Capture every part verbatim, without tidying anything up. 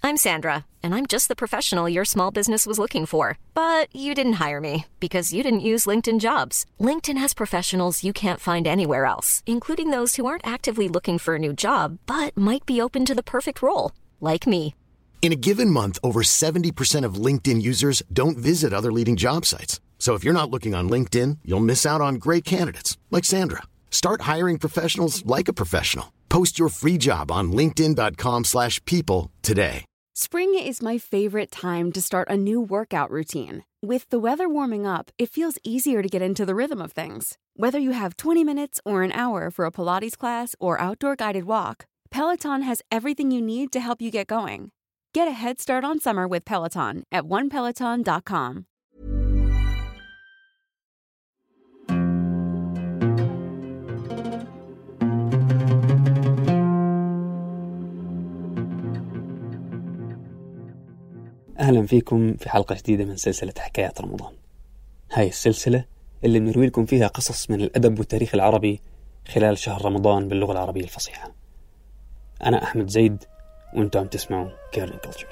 I'm Sandra, and I'm just the professional your small business was looking for. But you didn't hire me because you didn't use LinkedIn Jobs. LinkedIn has professionals you can't find anywhere else, including those who aren't actively looking for a new job, but might be open to the perfect role, like me. In a given month, over seventy percent of LinkedIn users don't visit other leading job sites. So if you're not looking on LinkedIn, you'll miss out on great candidates like Sandra. Start hiring professionals like a professional. Post your free job on linkedin dot com slash people today. Spring is my favorite time to start a new workout routine. With the weather warming up, it feels easier to get into the rhythm of things. Whether you have twenty minutes or an hour for a Pilates class or outdoor guided walk, Peloton has everything you need to help you get going. Get a head start on summer with Peloton at one peloton dot com. أهلا فيكم في حلقة جديدة من سلسلة حكايات رمضان. هاي السلسلة اللي بنروي لكم فيها قصص من الأدب والتاريخ العربي خلال شهر رمضان باللغة العربية الفصيحة. أنا أحمد زيد وأنتم عم تسمعوا كيرلين كولتشرز.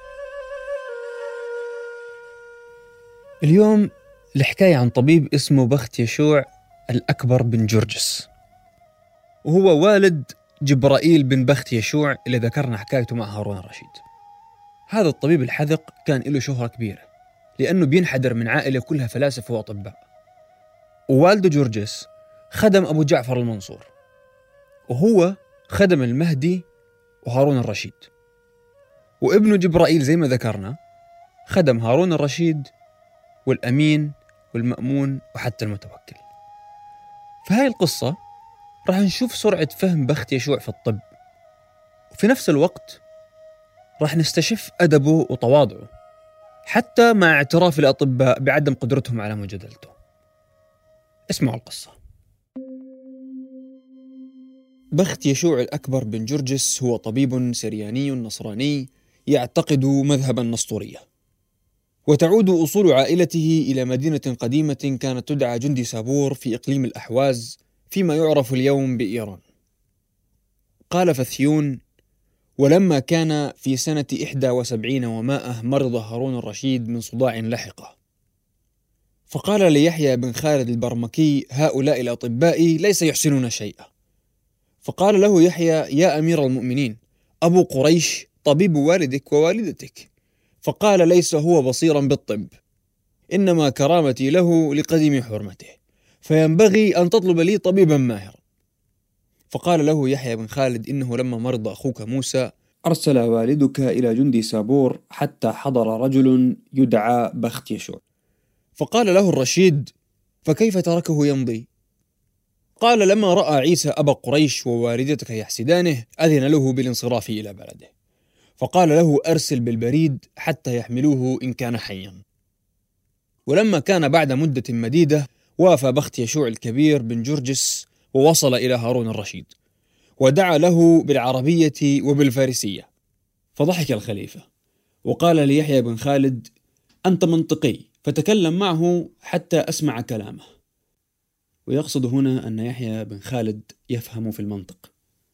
اليوم الحكاية عن طبيب اسمه بخت يشوع الأكبر بن جرجس، وهو والد جبرائيل بن بخت يشوع اللي ذكرنا حكايته مع هارون الرشيد. هذا الطبيب الحذق كان له شهرة كبيرة لأنه بينحدر من عائلة كلها فلاسفة وأطباء، ووالده جرجس خدم أبو جعفر المنصور، وهو خدم المهدي وهارون الرشيد، وابنه جبرائيل زي ما ذكرنا خدم هارون الرشيد والأمين والمأمون وحتى المتوكل. في هاي القصة راح نشوف سرعة فهم بخت يشوع في الطب، وفي نفس الوقت راح نستشف أدبه وتواضعه حتى مع اعتراف الأطباء بعدم قدرتهم على مجادلته. اسمعوا القصة. بخت يشوع الأكبر بن جرجس هو طبيب سرياني نصراني يعتقد مذهب النسطورية، وتعود أصول عائلته إلى مدينة قديمة كانت تدعى جندي سابور في إقليم الأحواز فيما يعرف اليوم بإيران. قال فثيون: ولما كان في سنة إحدى وسبعين ومائة مرض هارون الرشيد من صداع لحقه، فقال ليحيى بن خالد البرمكي: هؤلاء الأطباء ليس يحسنون شيئا. فقال له يحيى: يا أمير المؤمنين، أبو قريش طبيب والدك ووالدتك. فقال: ليس هو بصيرا بالطب، إنما كرامتي له لقديم حرمته، فينبغي أن تطلب لي طبيبا ماهرا. فقال له يحيى بن خالد: إنه لما مرض أخوك موسى أرسل والدك إلى جندي سابور حتى حضر رجل يدعى بخت يشوع. فقال له الرشيد: فكيف تركه يمضي؟ قال: لما رأى عيسى أبا قريش ووالدتك يحسدانه أذن له بالانصراف إلى بلده، فقال له: أرسل بالبريد حتى يحملوه إن كان حيا. ولما كان بعد مدة مديدة وافى بخت يشوع الكبير بن جرجس ووصل إلى هارون الرشيد، ودعا له بالعربية وبالفارسية. فضحك الخليفة وقال ليحيى بن خالد: أنت منطقي، فتكلم معه حتى أسمع كلامه. ويقصد هنا أن يحيى بن خالد يفهم في المنطق.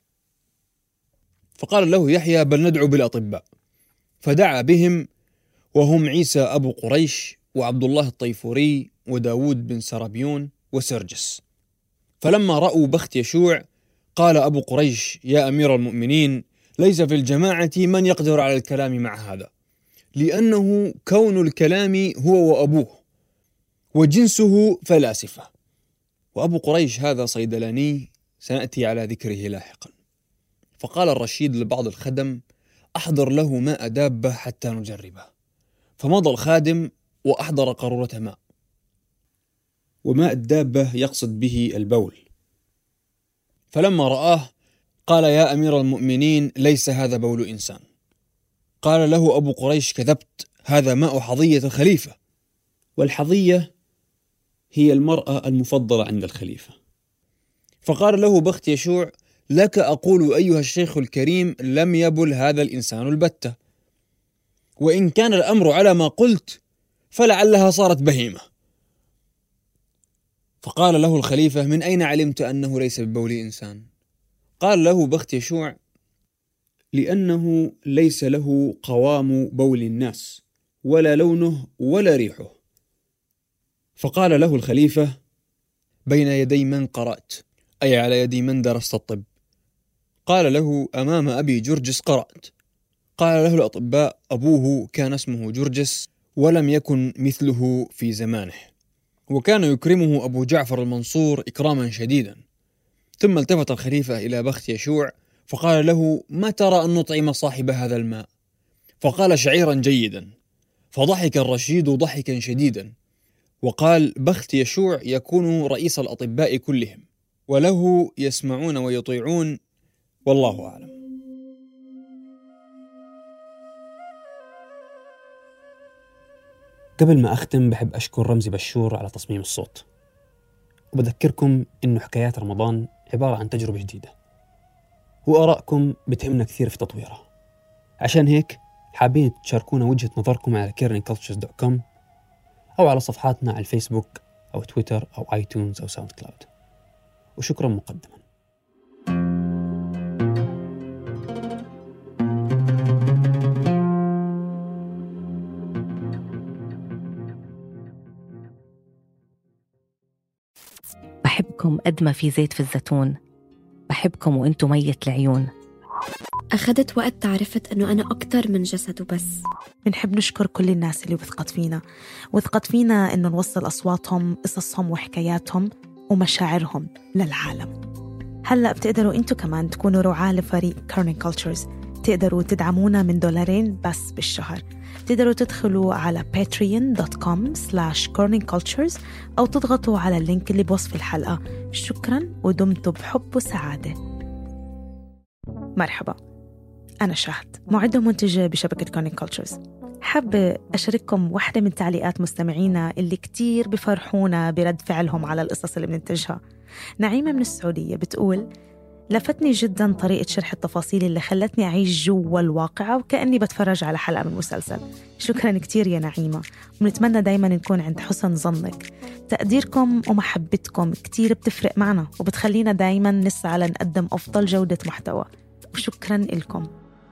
فقال له يحيى: بل ندعو بالأطباء. فدعا بهم، وهم عيسى أبو قريش وعبد الله الطيفوري وداود بن سرابيون وسرجس. فلما رأوا بخت يشوع قال أبو قريش: يا أمير المؤمنين، ليس في الجماعة من يقدر على الكلام مع هذا، لأنه كون الكلام هو وأبوه، وجنسه فلاسفة، وأبو قريش هذا صيدلاني سنأتي على ذكره لاحقا. فقال الرشيد لبعض الخدم: أحضر له ماء دابة حتى نجربه. فمضى الخادم وأحضر قارورة ماء، وماء الدابة يقصد به البول. فلما رآه قال: يا أمير المؤمنين، ليس هذا بول إنسان. قال له أبو قريش: كذبت، هذا ماء حظية الخليفة، والحظية هي المرأة المفضلة عند الخليفة. فقال له بخت يشوع: لك أقول أيها الشيخ الكريم، لم يبل هذا الإنسان البتة، وإن كان الأمر على ما قلت فلعلها صارت بهيمة. فقال له الخليفة: من أين علمت أنه ليس ببول إنسان؟ قال له بخت يشوع: لأنه ليس له قوام بول الناس ولا لونه ولا ريحه. فقال له الخليفة: بين يدي من قرأت؟ أي على يد من درست الطب؟ قال له: أمام أبي جرجس قرأت. قال له الأطباء: أبوه كان اسمه جرجس ولم يكن مثله في زمانه، وكان يكرمه أبو جعفر المنصور إكراما شديدا. ثم التفت الخليفة إلى بخت يشوع فقال له: ما ترى أن نطعم صاحب هذا الماء؟ فقال: شعيرا جيدا. فضحك الرشيد ضحكا شديدا وقال: بخت يشوع يكون رئيس الأطباء كلهم، وله يسمعون ويطيعون، والله أعلم. قبل ما أختم بحب أشكر رمزي بشور على تصميم الصوت، وبذكركم إنه حكايات رمضان عبارة عن تجربة جديدة، وآرائكم بتهمنا كثير في تطويرها. عشان هيك حابين تشاركونا وجهة نظركم على كيرنينج كلتشرز دوت كوم أو على صفحاتنا على الفيسبوك أو تويتر أو آيتونز أو ساوند كلاود. وشكرا مقدما. بحبكم قد ما في زيت في الزيتون، بحبكم وانتم ميت العيون. أخذت وقت عرفت أنه أنا أكتر من جسد وبس. بنحب نشكر كل الناس اللي وثقت فينا وثقت فينا أنه نوصل أصواتهم، قصصهم وحكاياتهم ومشاعرهم للعالم. هلأ بتقدروا أنتوا كمان تكونوا رعاة لفريق كيرنينج كلتشرز. تقدروا تدعمونا من دولارين بس بالشهر. تقدروا تدخلوا على باتريون دوت كوم سلاش كيرنينج كلتشرز أو تضغطوا على اللينك اللي بوصف الحلقة. شكرا ودمتوا بحب وسعادة. مرحبا، أنا شهد، معدة ومنتجة بشبكة كيرنينج كلتشرز. حابة أشارككم واحدة من تعليقات مستمعينا اللي كتير بفرحونا برد فعلهم على القصص اللي بننتجها. نعيمة من السعودية بتقول: لفتني جدا طريقة شرح التفاصيل اللي خلتني أعيش جوا الواقعة وكأني بتفرج على حلقة من مسلسل. شكرا كتير يا نعيمة، ونتمنى دايما نكون عند حسن ظنك. تقديركم ومحبتكم كتير بتفرق معنا وبتخلينا دايما نسعى لنقدم أفضل جودة محتوى، وشكرا لكم.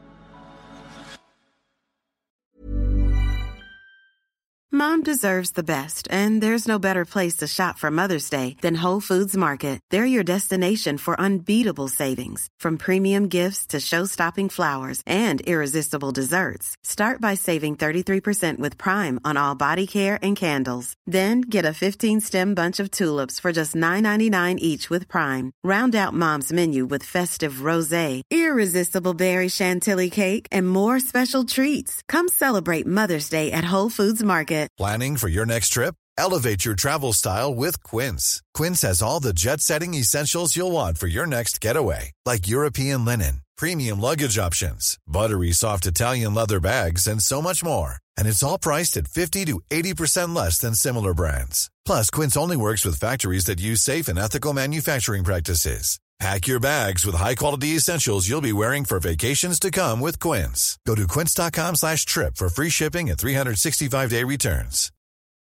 Mom deserves the best, and there's no better place to shop for Mother's Day than Whole Foods Market. They're your destination for unbeatable savings, from premium gifts to show-stopping flowers and irresistible desserts. Start by saving thirty-three percent with Prime on all body care and candles. Then get a fifteen-stem bunch of tulips for just nine ninety-nine each with Prime. Round out Mom's menu with festive rosé, irresistible berry chantilly cake, and more special treats. Come celebrate Mother's Day at Whole Foods Market. Planning for your next trip? Elevate your travel style with Quince. Quince has all the jet-setting essentials you'll want for your next getaway, like European linen, premium luggage options, buttery soft Italian leather bags, and so much more. And it's all priced at fifty to eighty percent less than similar brands. Plus, Quince only works with factories that use safe and ethical manufacturing practices. Pack your bags with high-quality essentials you'll be wearing for vacations to come with Quince. Go to quince.com slash trip for free shipping and three sixty-five day returns.